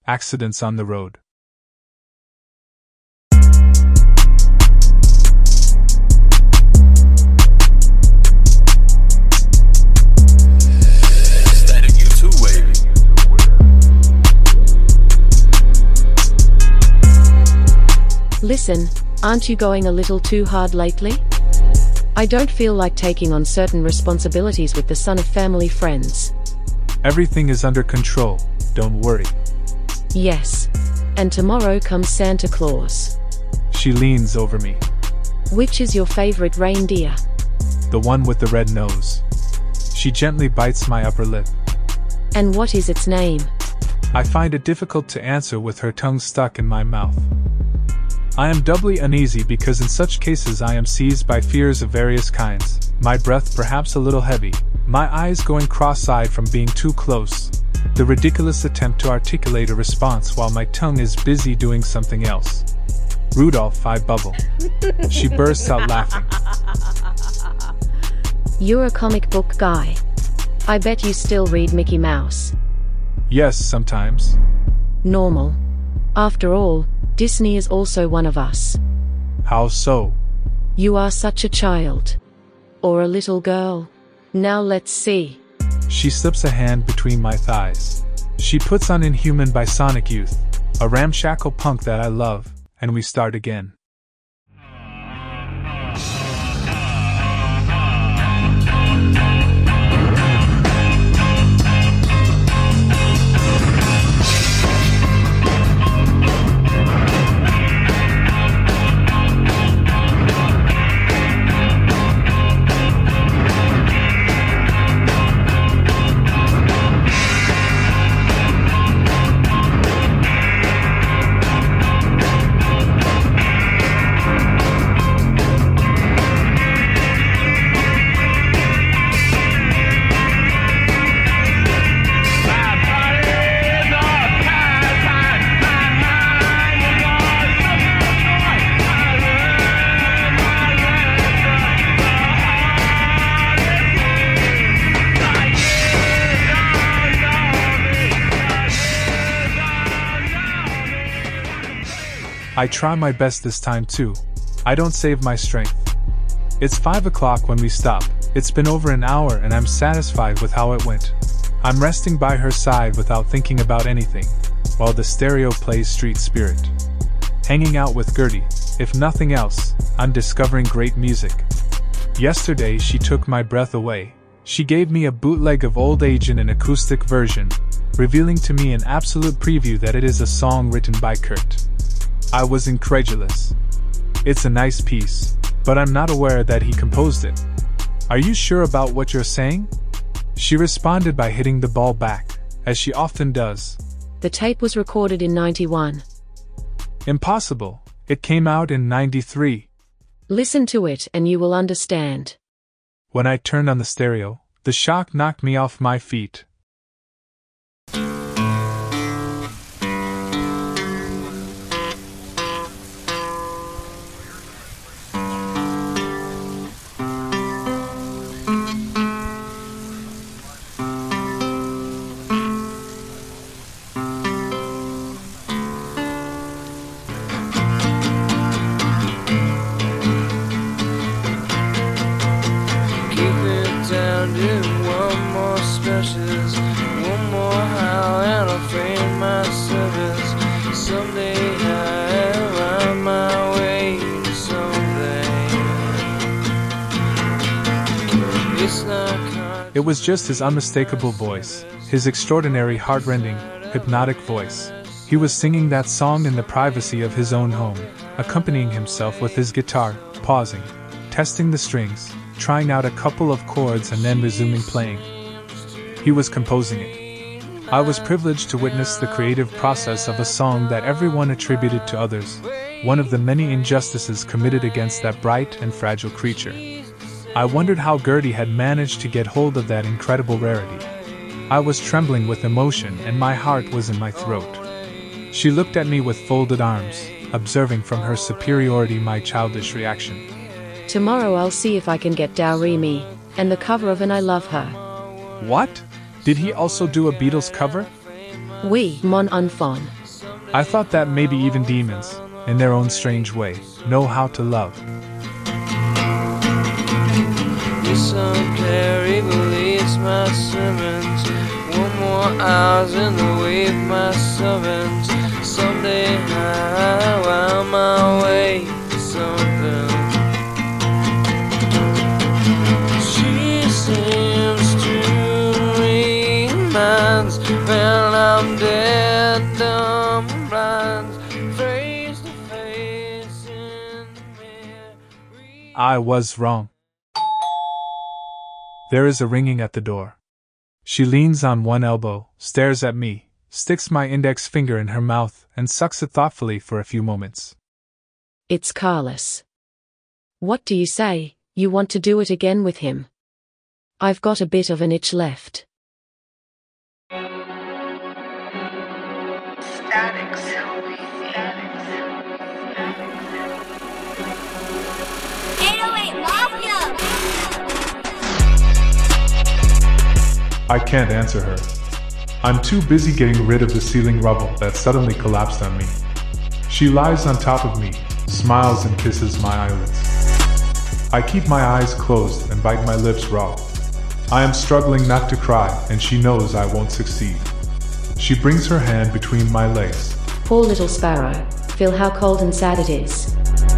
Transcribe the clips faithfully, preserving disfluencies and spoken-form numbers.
Accidents on the road. Listen, aren't you going a little too hard lately? I don't feel like taking on certain responsibilities with the son of family friends. Everything is under control, don't worry. Yes. And tomorrow comes Santa Claus. She leans over me. Which is your favorite reindeer? The one with the red nose. She gently bites my upper lip. And what is its name? I find it difficult to answer with her tongue stuck in my mouth. I am doubly uneasy because in such cases I am seized by fears of various kinds, my breath perhaps a little heavy, my eyes going cross-eyed from being too close, the ridiculous attempt to articulate a response while my tongue is busy doing something else. Rudolph, I bubble. She bursts out laughing. You're a comic book guy. I bet you still read Mickey Mouse. Yes, sometimes. Normal. After all, Disney is also one of us. How so? You are such a child. Or a little girl. Now let's see. She slips a hand between my thighs. She puts on Inhuman by Sonic Youth, a ramshackle punk that I love, and we start again. I try my best this time too. I don't save my strength. It's five o'clock when we stop. It's been over an hour and I'm satisfied with how it went. I'm resting by her side without thinking about anything, while the stereo plays Street Spirit. Hanging out with Gertie, if nothing else, I'm discovering great music. Yesterday she took my breath away. She gave me a bootleg of Old Age in an acoustic version, revealing to me an absolute preview that it is a song written by Kurt. I was incredulous. It's a nice piece, but I'm not aware that he composed it. Are you sure about what you're saying? She responded by hitting the ball back, as she often does. The tape was recorded in ninety-one. Impossible. It came out in ninety-three. Listen to it and you will understand. When I turned on the stereo, the shock knocked me off my feet. It was just his unmistakable voice, his extraordinary heart-rending, hypnotic voice. He was singing that song in the privacy of his own home, accompanying himself with his guitar, pausing, testing the strings, trying out a couple of chords and then resuming playing. He was composing it. I was privileged to witness the creative process of a song that everyone attributed to others, one of the many injustices committed against that bright and fragile creature. I wondered how Gertie had managed to get hold of that incredible rarity. I was trembling with emotion and my heart was in my throat. She looked at me with folded arms, observing from her superiority my childish reaction. Tomorrow I'll see if I can get Dowry Me, and the cover of And I Love Her. What? Did he also do a Beatles cover? Oui, mon enfant. I thought that maybe even demons, in their own strange way, know how to love. Listen, Carrie believes my sermons. One more hours in the way of my servants. Someday I will my way to something. She seems to remind when I'm dead, dumb, blind, face to face in the mirror. I was wrong. There is a ringing at the door. She leans on one elbow, stares at me, sticks my index finger in her mouth, and sucks it thoughtfully for a few moments. It's Carlos. What do you say? You want to do it again with him? I've got a bit of an itch left. Static, Sylvie. Static, eight oh eight Mafia! I can't answer her. I'm too busy getting rid of the ceiling rubble that suddenly collapsed on me. She lies on top of me, smiles and kisses my eyelids. I keep my eyes closed and bite my lips raw. I am struggling not to cry, and she knows I won't succeed. She brings her hand between my legs. Poor little sparrow, feel how cold and sad it is.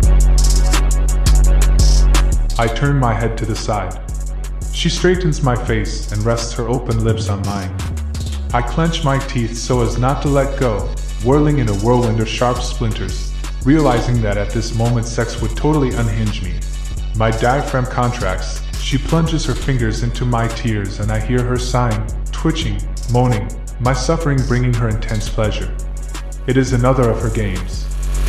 I turn my head to the side. She straightens my face and rests her open lips on mine. I clench my teeth so as not to let go, whirling in a whirlwind of sharp splinters, realizing that at this moment sex would totally unhinge me. My diaphragm contracts, she plunges her fingers into my tears and I hear her sighing, twitching, moaning, my suffering bringing her intense pleasure. It is another of her games.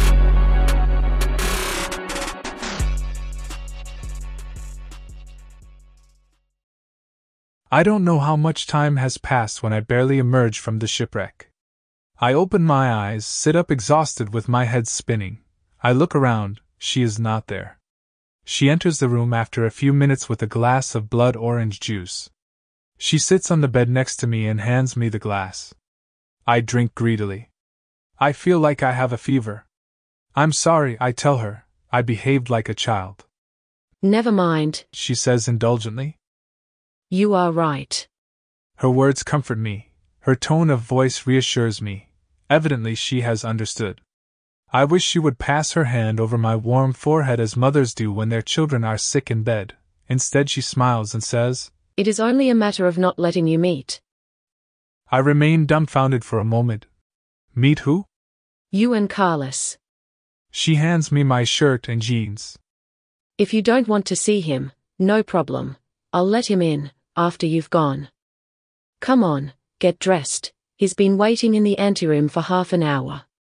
I don't know how much time has passed when I barely emerge from the shipwreck. I open my eyes, sit up exhausted with my head spinning. I look around, she is not there. She enters the room after a few minutes with a glass of blood orange juice. She sits on the bed next to me and hands me the glass. I drink greedily. I feel like I have a fever. I'm sorry, I tell her. I behaved like a child. Never mind, she says indulgently. You are right. Her words comfort me. Her tone of voice reassures me. Evidently she has understood. I wish she would pass her hand over my warm forehead as mothers do when their children are sick in bed. Instead she smiles and says, It is only a matter of not letting you meet. I remain dumbfounded for a moment. Meet who? You and Carlos. She hands me my shirt and jeans. If you don't want to see him, no problem. I'll let him in, after you've gone. Come on, get dressed. He's been waiting in the anteroom for half an hour.